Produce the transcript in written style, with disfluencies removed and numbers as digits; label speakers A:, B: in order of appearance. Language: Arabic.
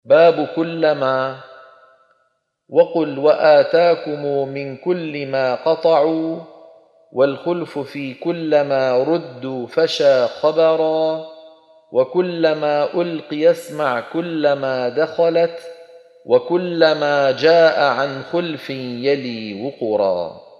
A: باب كلما. وقل وآتاكم من كل ما قطعوا، والخلف في كلما ردوا فشى خبرا، وكلما ألقي اسمع كلما دخلت، وكلما جاء عن خلف يلي وقرا.